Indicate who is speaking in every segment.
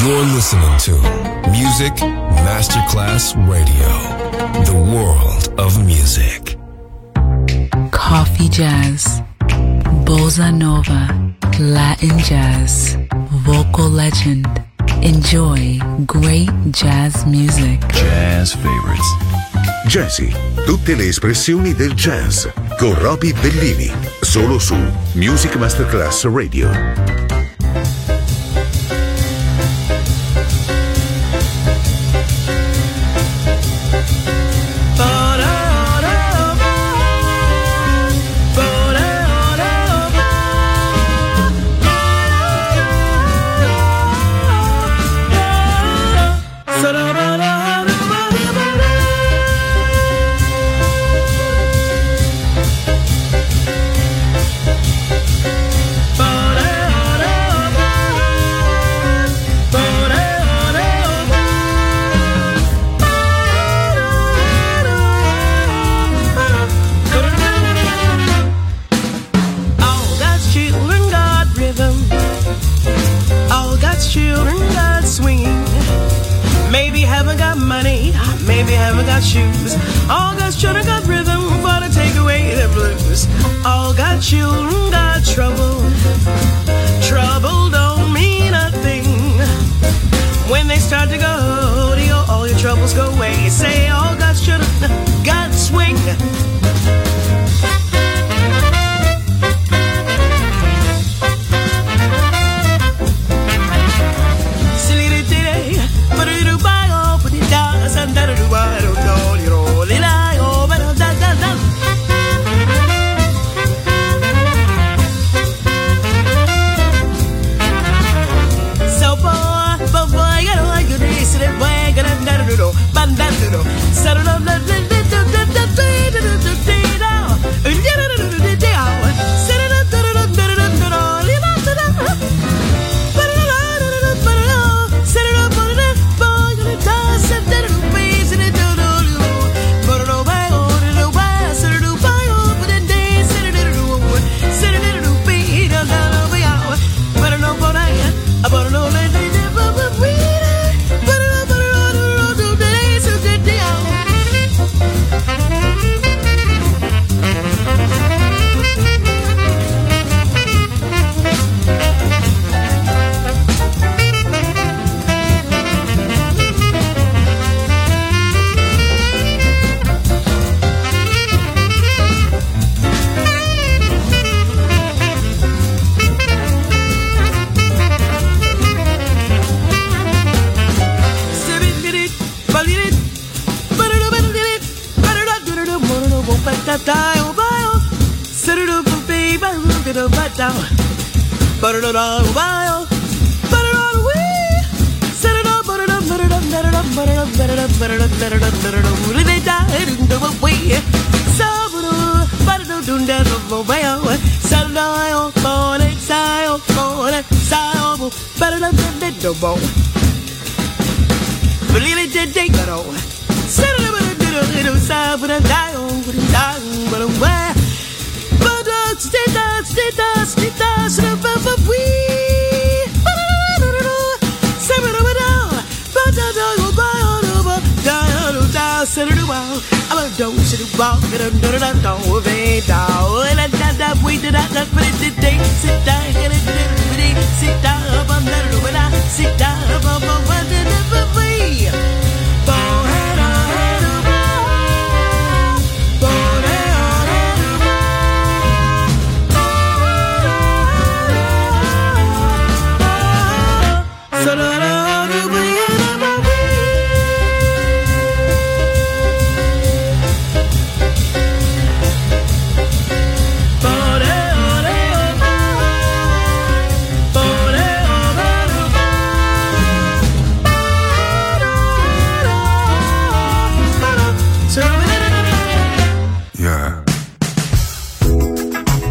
Speaker 1: You're listening to Music Masterclass Radio, the world of music.
Speaker 2: Coffee jazz, bossa nova, Latin jazz, vocal legend. Enjoy great jazz music.
Speaker 3: Jazz favorites.
Speaker 4: Jazzy, tutte le espressioni del jazz con Roby Bellini, solo su Music Masterclass Radio.
Speaker 5: Shoes. All God's children got rhythm for to take away the blues. All God's children got trouble. Trouble don't mean a thing. When they start to go, all your troubles go away. Say all God's children got swing.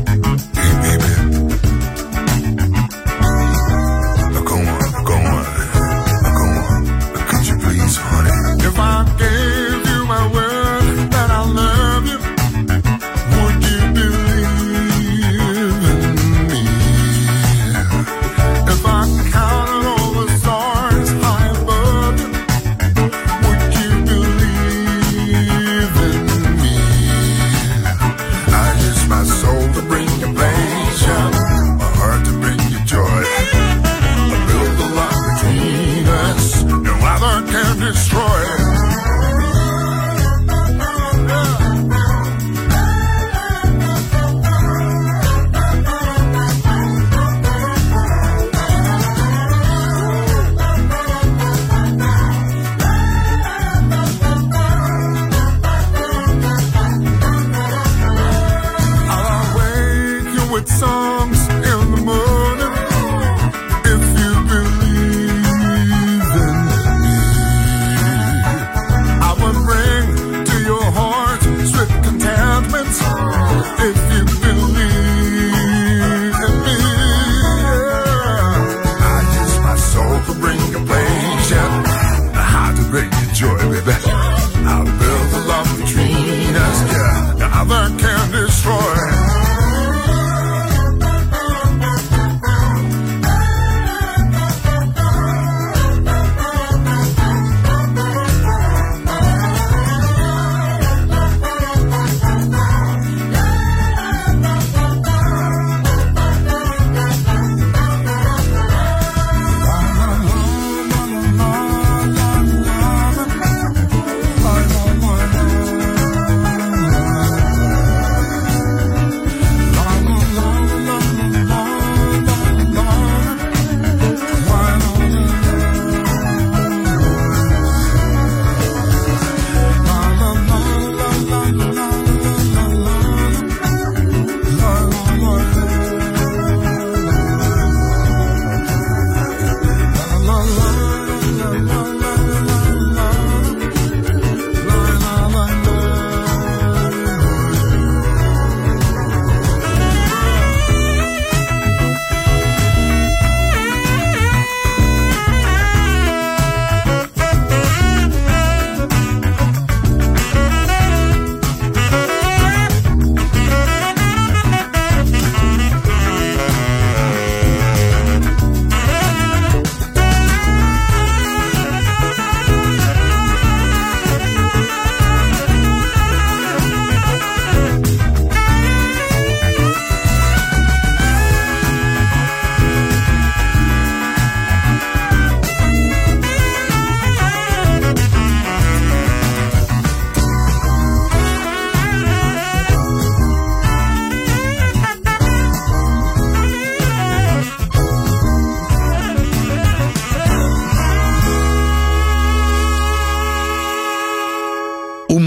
Speaker 4: Go on.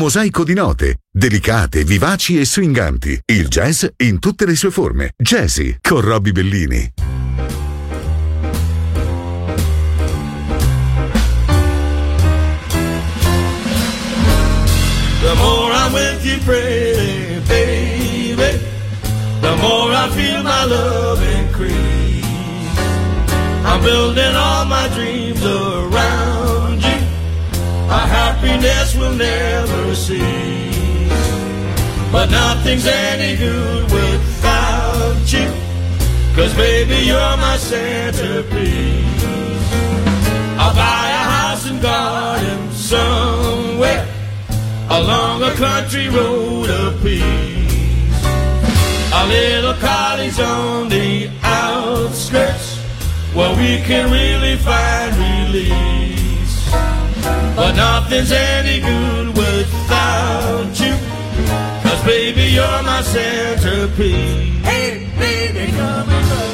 Speaker 4: mosaico di note, delicate, vivaci e swinganti. Il jazz in tutte le sue forme. Jazzy con Robbie Bellini.
Speaker 3: The more I'm with you, pretty baby, the more I feel my love increase. I'm building all my dreams around you. Our happiness will never cease. But nothing's any good without you, 'cause baby, you're my centerpiece. I'll buy a house and garden somewhere along a country road of peace, a little cottage on the outskirts where we can really find release. But nothing's any good without you, 'cause baby, you're my centerpiece. Hey baby, come and go.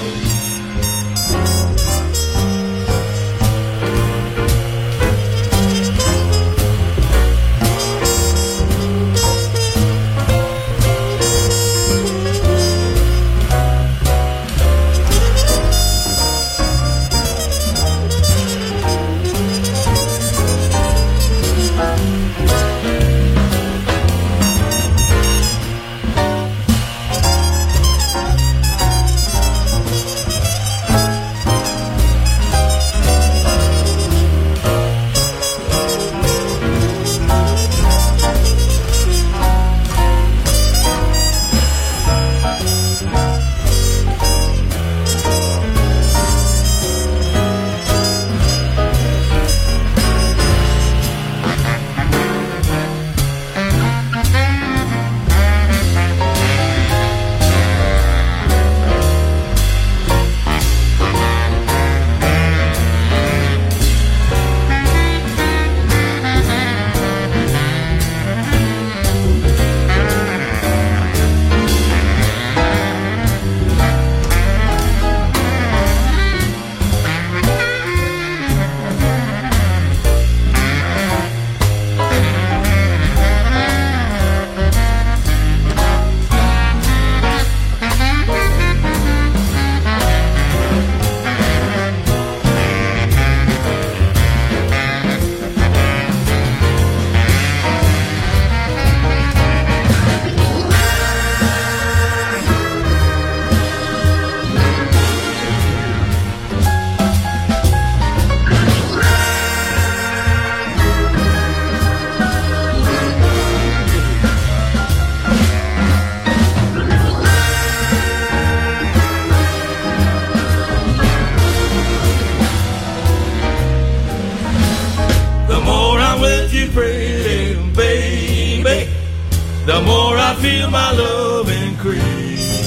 Speaker 3: the more I feel my love increase.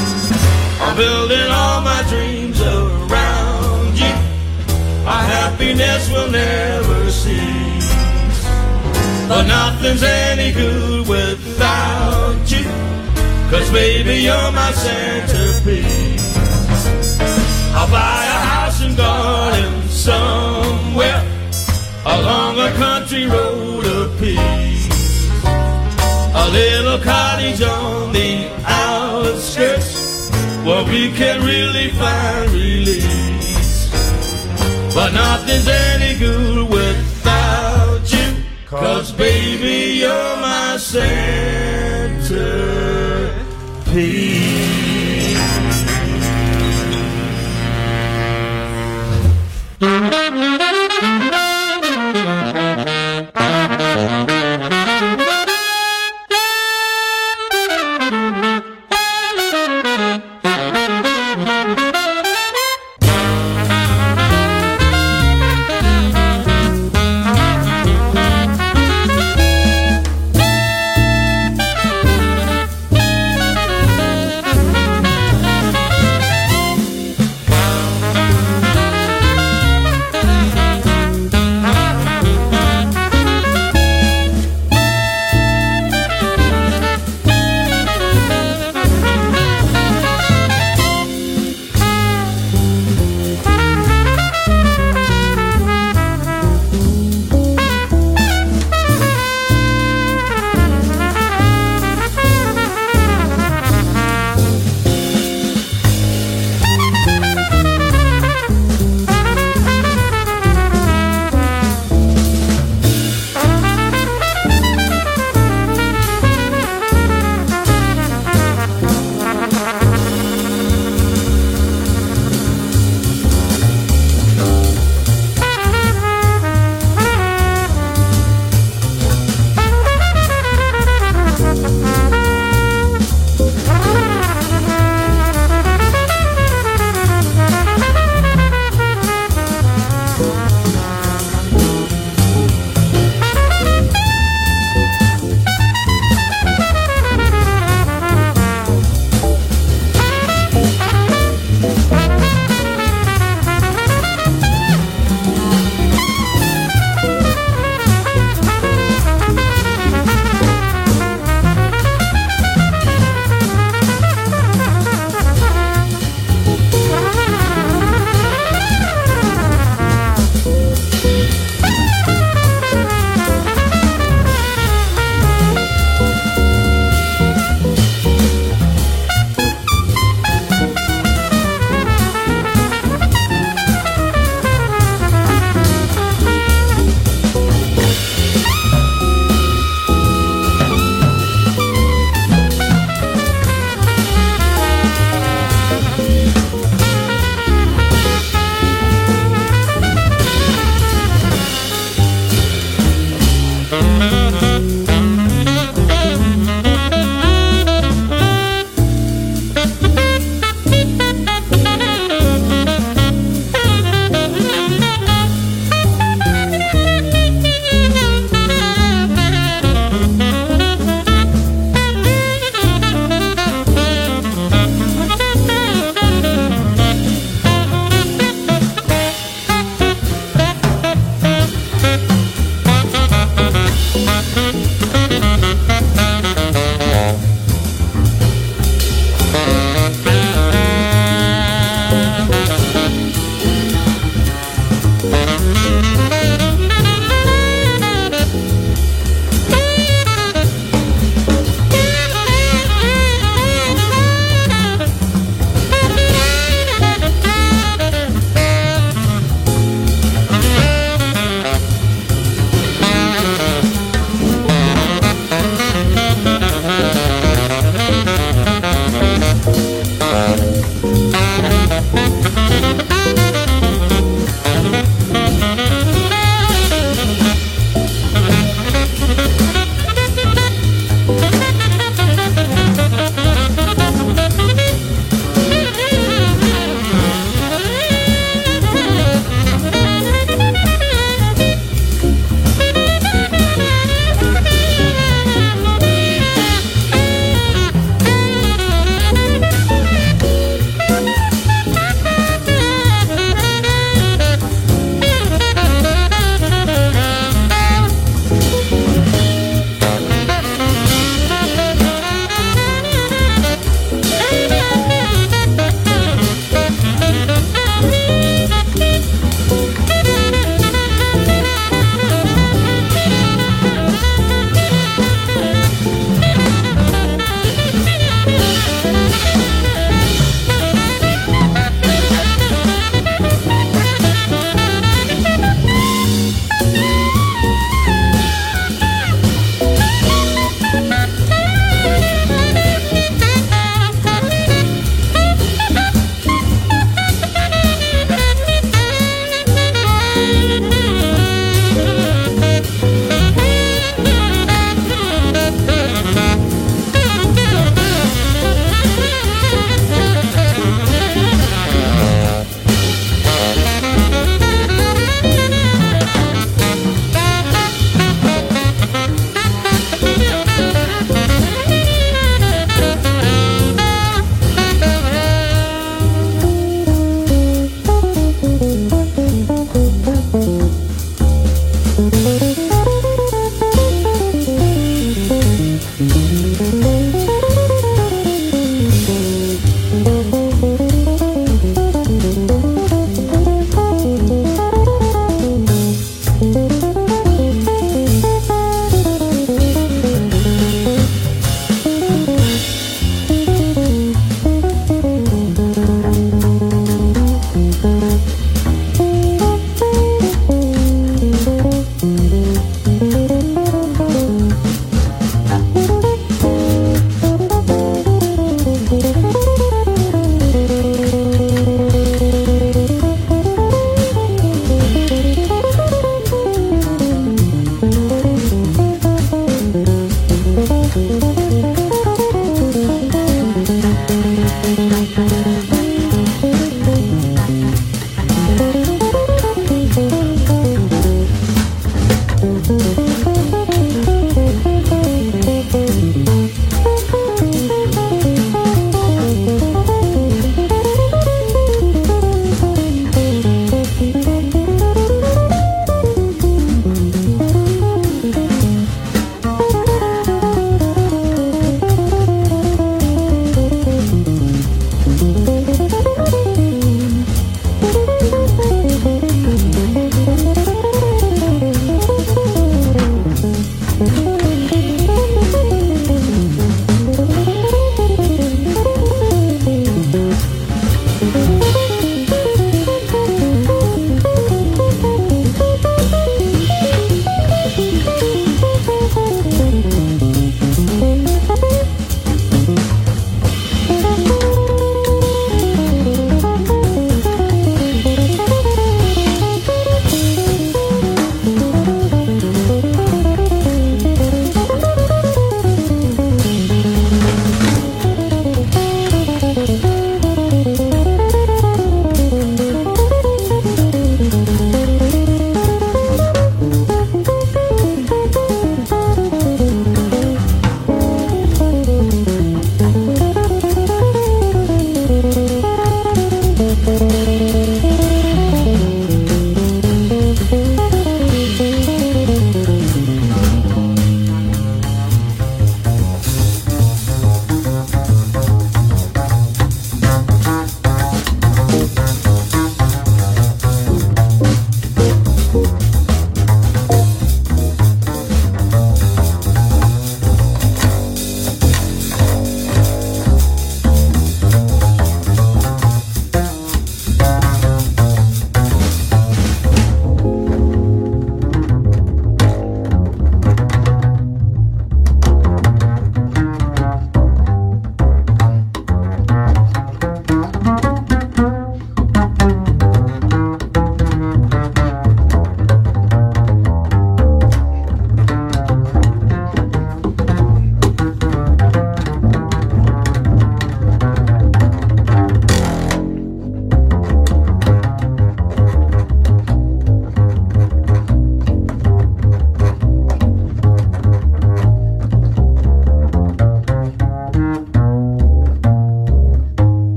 Speaker 3: I'm building all my dreams around you. Our happiness will never cease. But nothing's any good without you, 'cause baby, you're my centerpiece. I'll buy a house and garden somewhere along a country road of peace, a little cottage on the outskirts where we can really find release. But nothing's any good without you, 'cause baby, you're my centerpiece.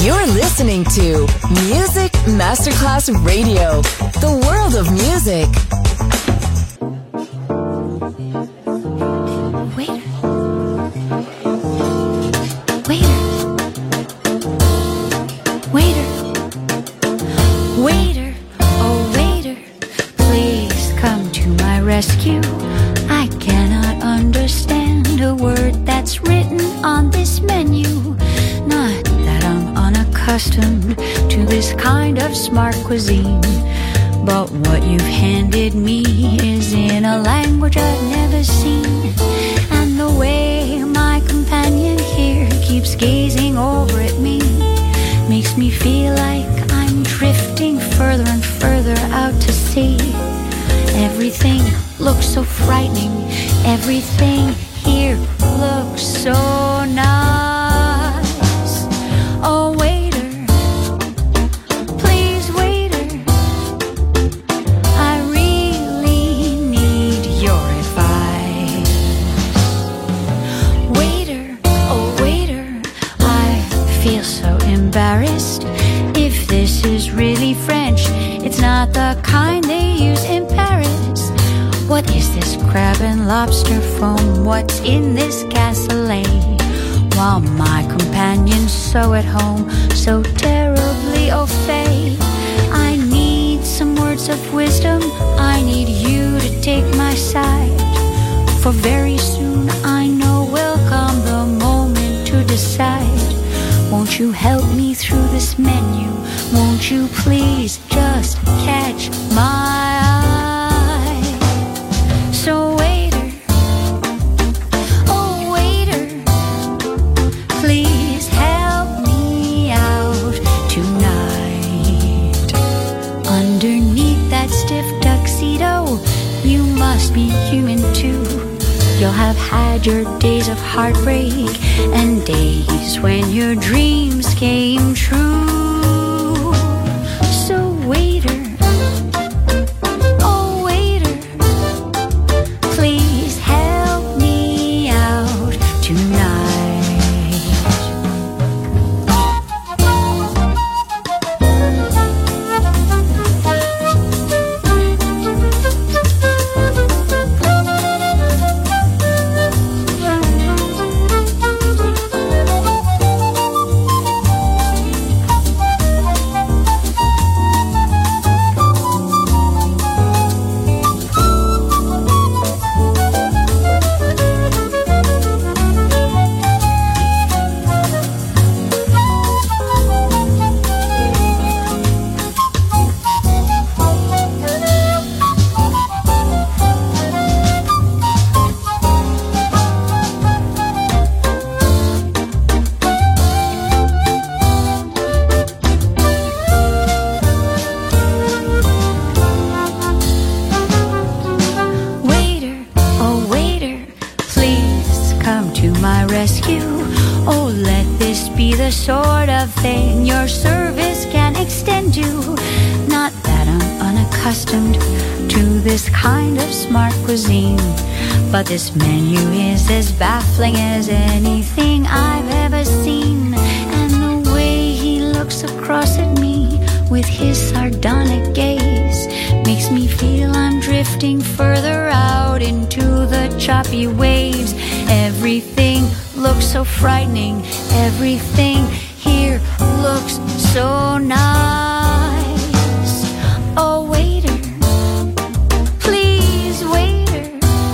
Speaker 6: You're listening to Music Masterclass Radio, the world of music.
Speaker 7: Waiter, oh waiter, please come to my rescue. I cannot understand a word that's written on this menu. Not that I'm unaccustomed to this kind of smart cuisine, but what you've handed me is in a language I've never seen. And the way my companion here keeps gazing over at me makes me feel like I'm drifting further and further out to sea. Everything looks so frightening. Everything here looks so nice. Oh, waiter, please, waiter, I really need your advice. Waiter, oh, waiter, I feel so embarrassed. If this is really French, it's not the kind they use in Paris. What is this crab and lobster foam? What's in this cassoulet? While my companion's so at home, so terribly au fait. I need some words of wisdom. I need you to take my side. For very soon I know will come the moment to decide. Won't you help me through this menu? Won't you please just catch my eye? So waiter, oh waiter, please help me out tonight. Underneath that stiff tuxedo, you must be human too. You'll have had your days of heartbreak and days when your dreams came true. So waiter, oh waiter, please help me out tonight. Sort of thing your service can extend to. Not that I'm unaccustomed to this kind of smart cuisine, but this menu is as baffling as anything I've ever seen. And the way he looks across at me with his sardonic gaze makes me feel I'm drifting further out into the choppy waves. Everything looks so frightening. Everything here looks so nice. Oh waiter, please waiter,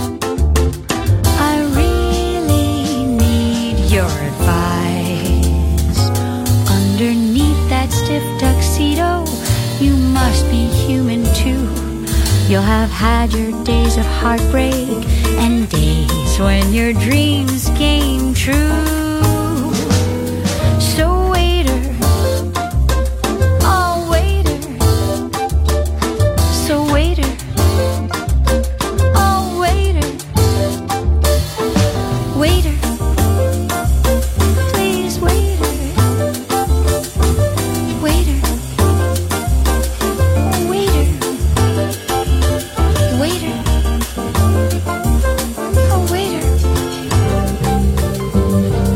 Speaker 7: I really need your advice. Underneath that stiff tuxedo, you must be human too. You'll have had your days of heartbreak and days when your dreams came true. So waiter, oh waiter, so waiter, oh waiter, waiter, please waiter, waiter, waiter, waiter, oh waiter.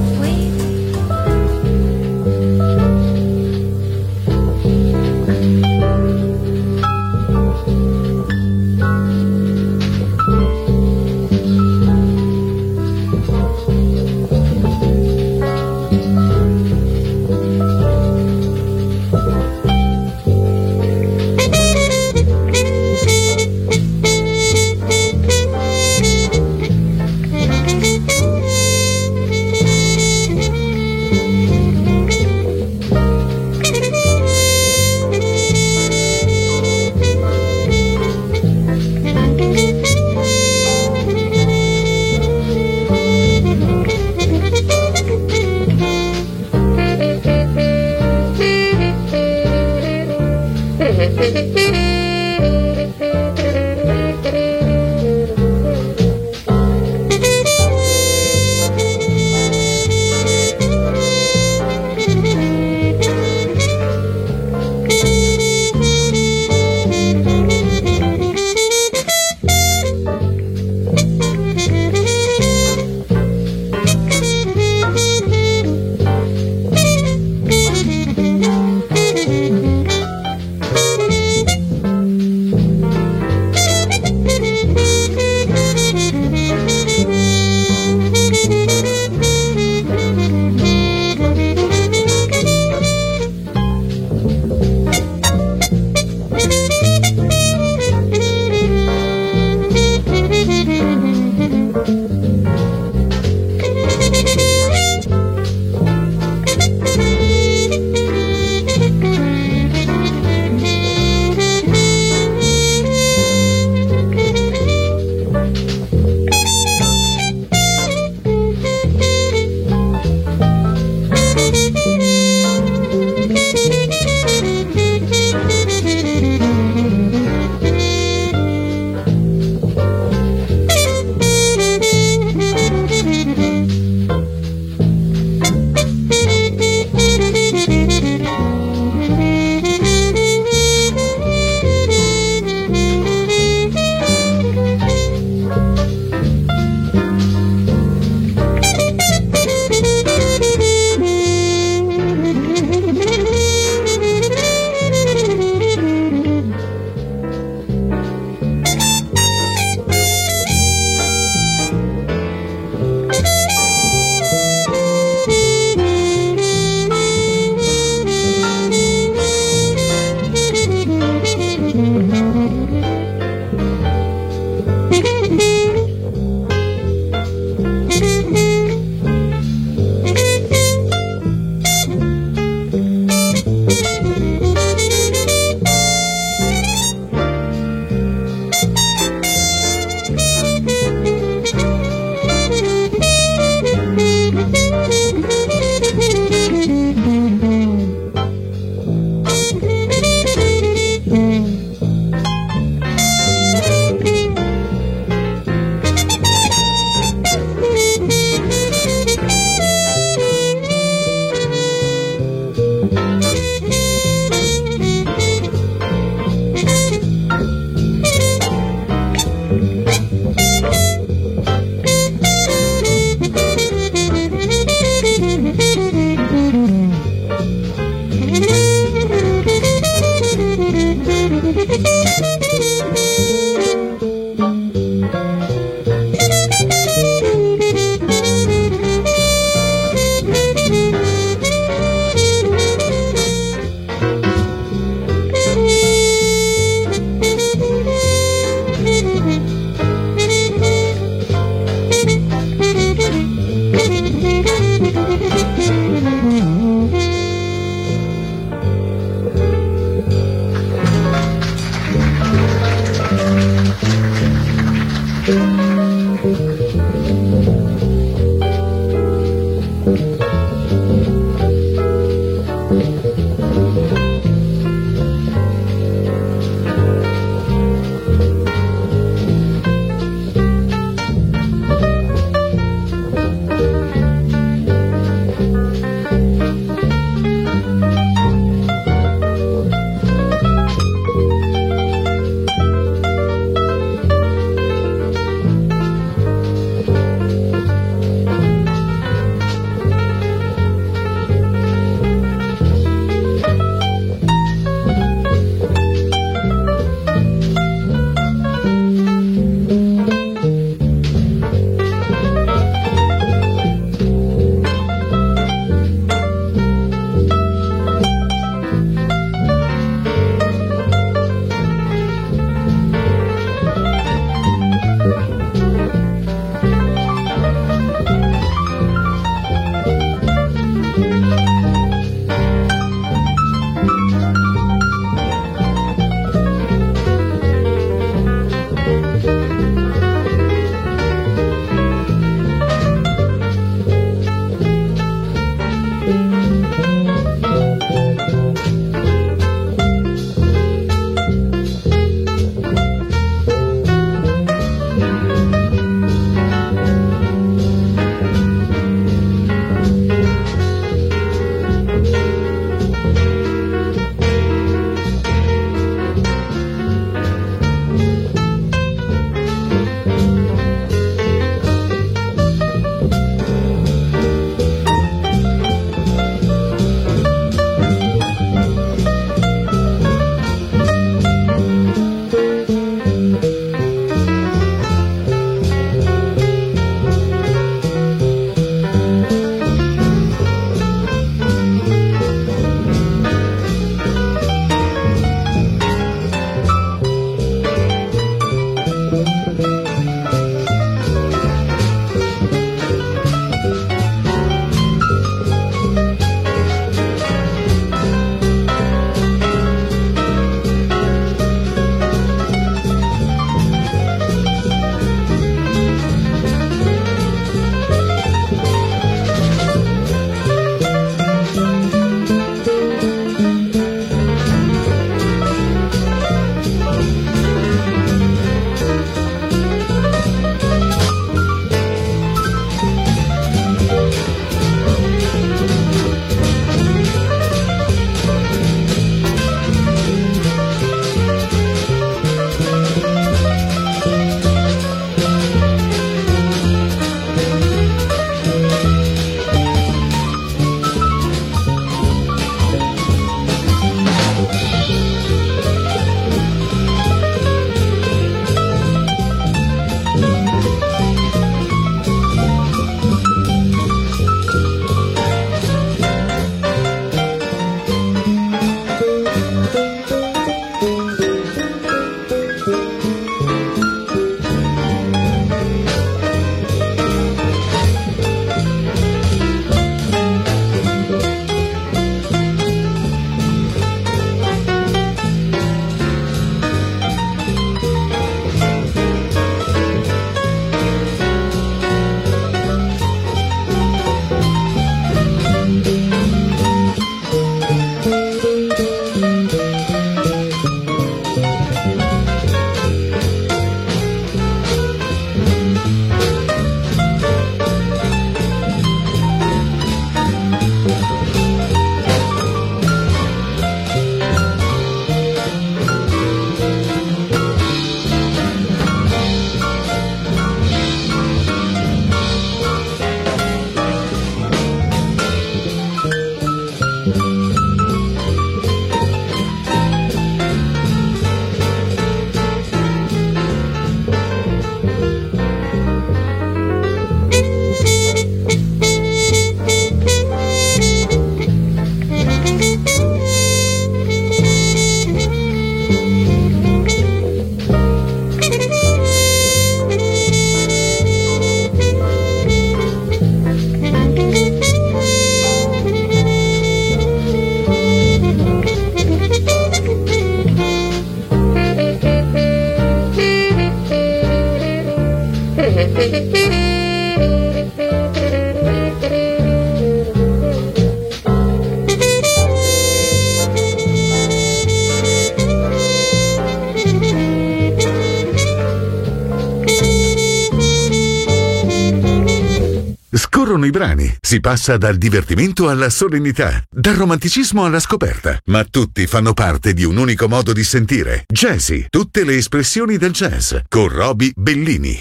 Speaker 4: Scorrono i brani, si passa dal divertimento alla solennità, dal romanticismo alla scoperta, ma tutti fanno parte di un unico modo di sentire. Jazzy, tutte le espressioni del jazz, con Roby Bellini.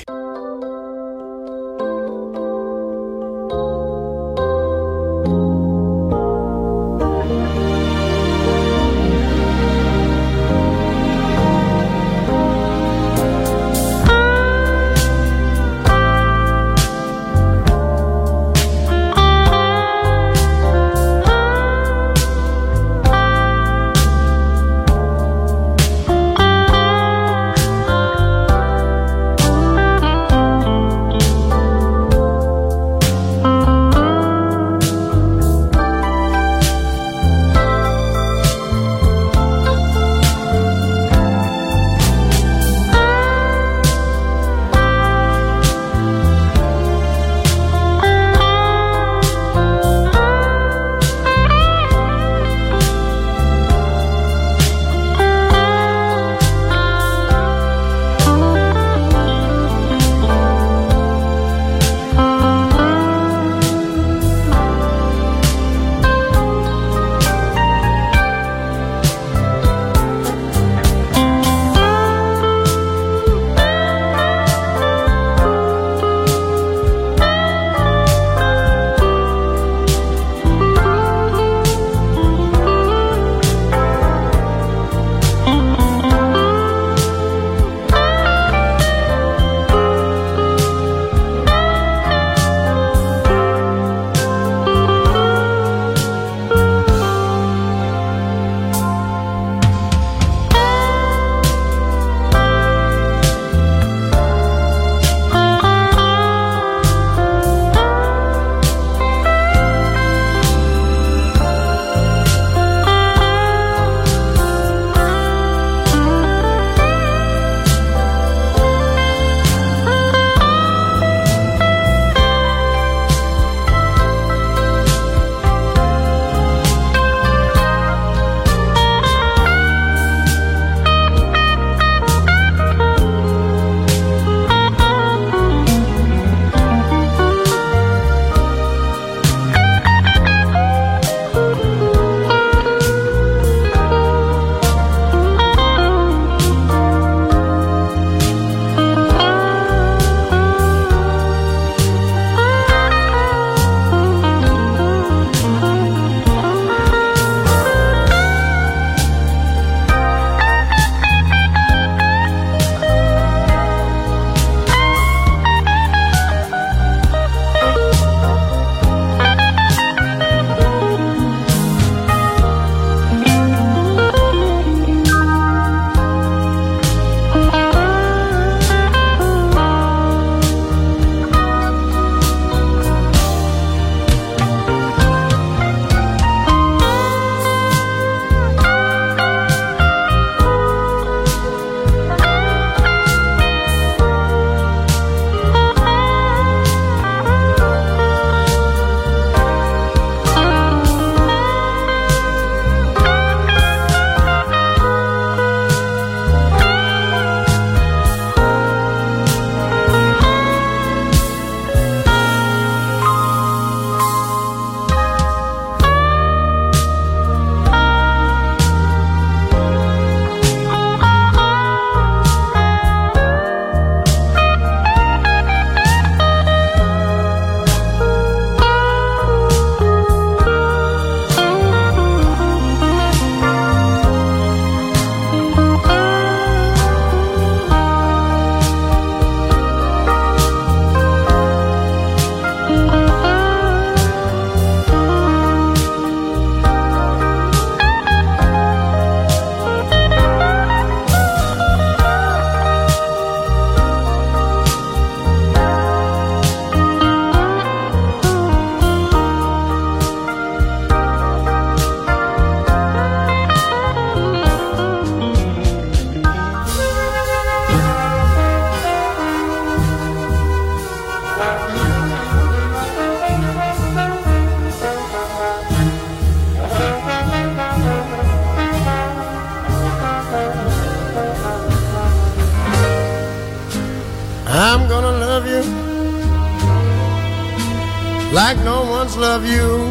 Speaker 8: like no one's loved you.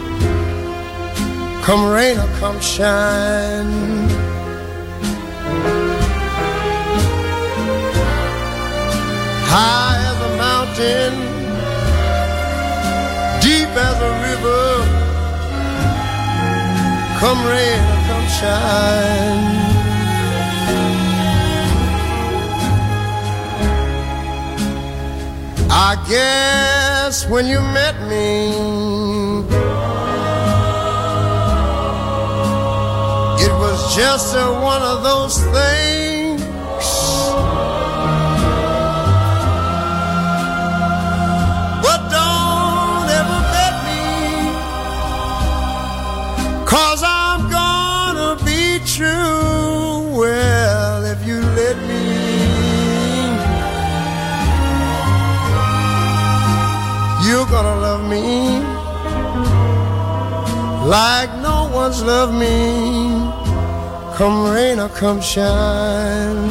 Speaker 8: Come rain or come shine, high as a mountain, deep as a river. Come rain or come shine. I guess when you met me, it was just one of those things. But don't ever bet me, 'cause I'm gonna be true. Well, if you let me, you're gonna love me like no one's loved me. Come rain or come shine.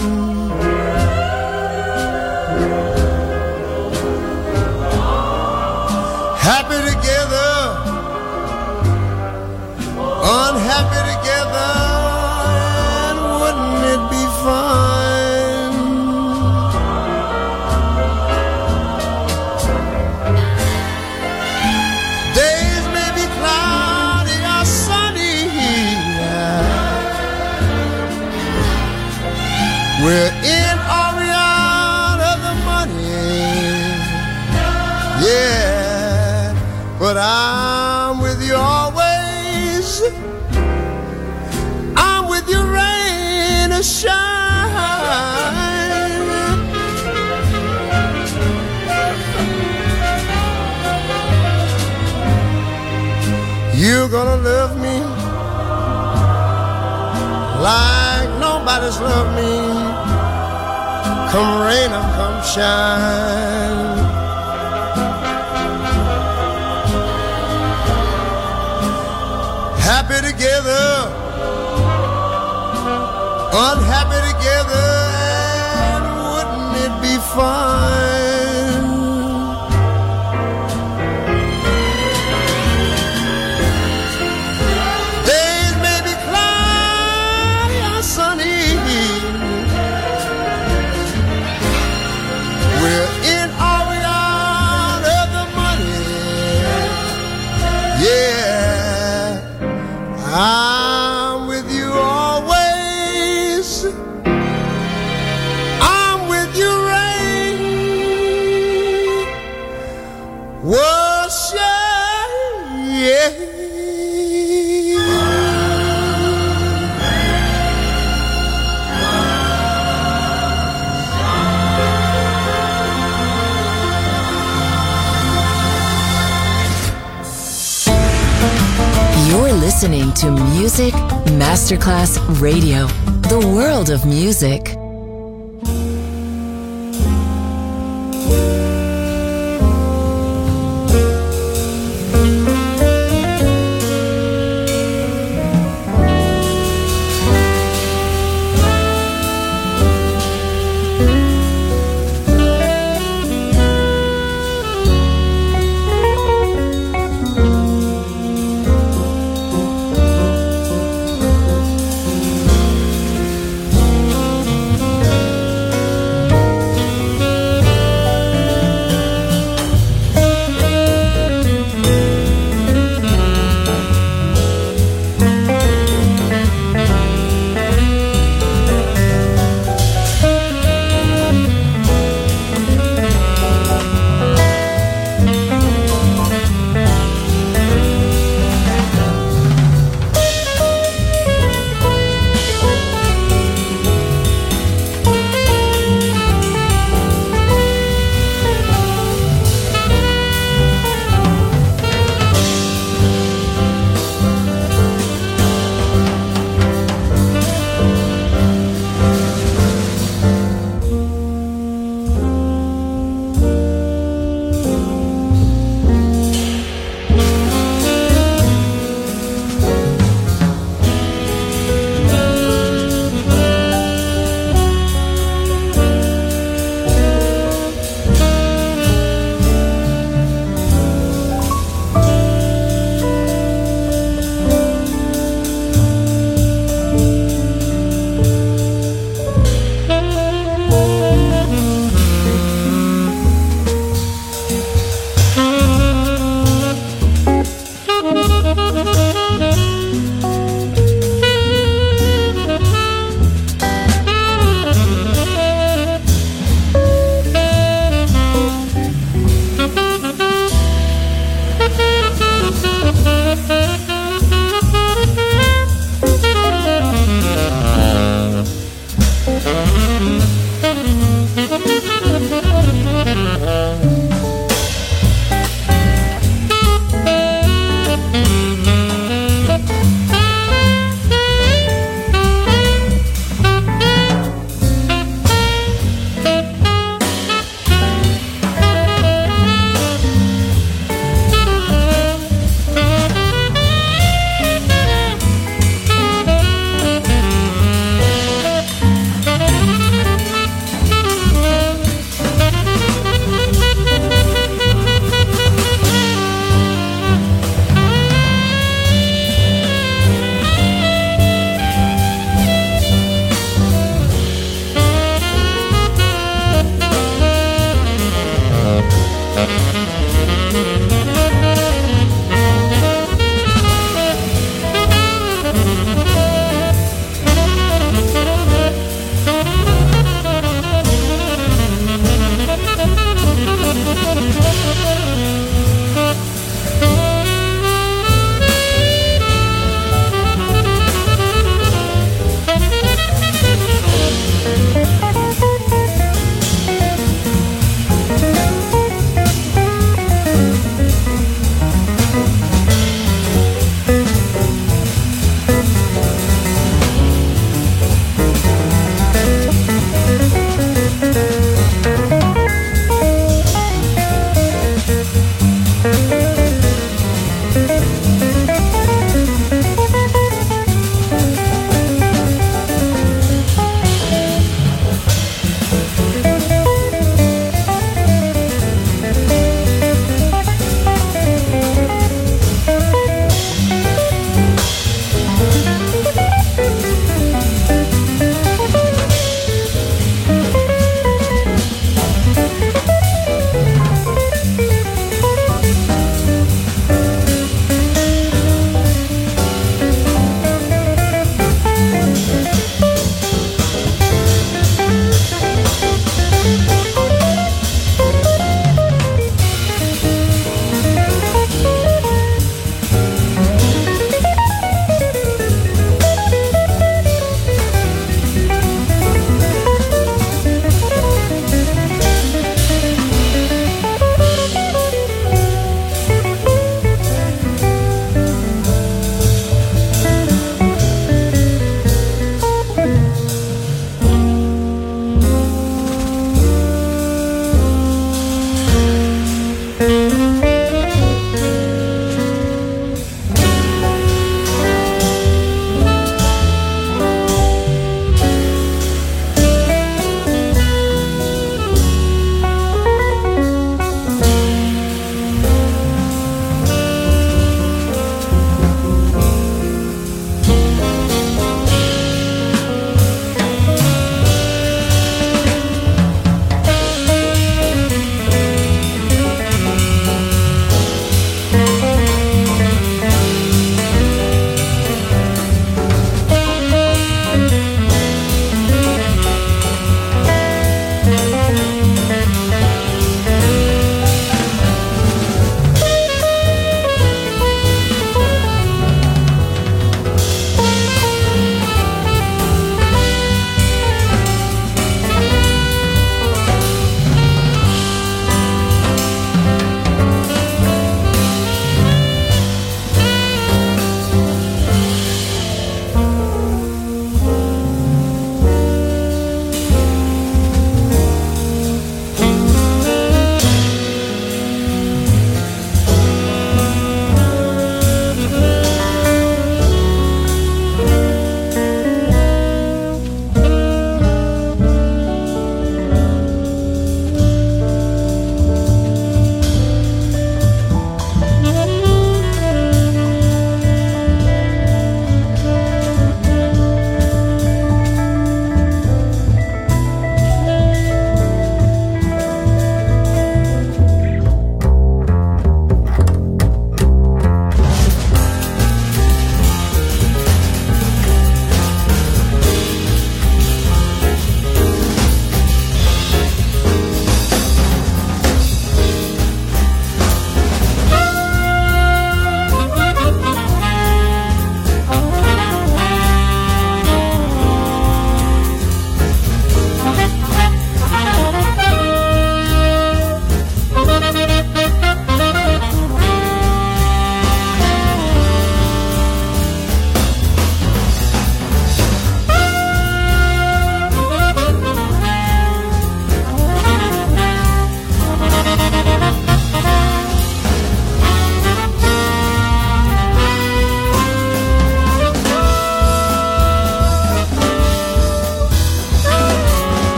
Speaker 8: Happy together, unhappy together, and wouldn't it be fine? Days may be cloudy or sunny, we're in or we out of the money, yeah, but I'm with you always. I'm with you rain or shine. You're gonna love me like nobody's loved me. Come rain or come shine. Happy together, unhappy together, and wouldn't it be fine? Days may be cloudy or sunny, we're in or we out of the money, yeah, I'm with you always. I'm with you rain, yeah.
Speaker 6: You're listening to Music Masterclass Radio, the world of music.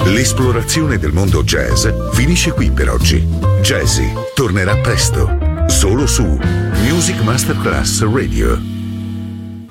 Speaker 4: L'esplorazione del mondo jazz finisce qui per oggi. Jazzy tornerà presto, solo su Music Masterclass Radio.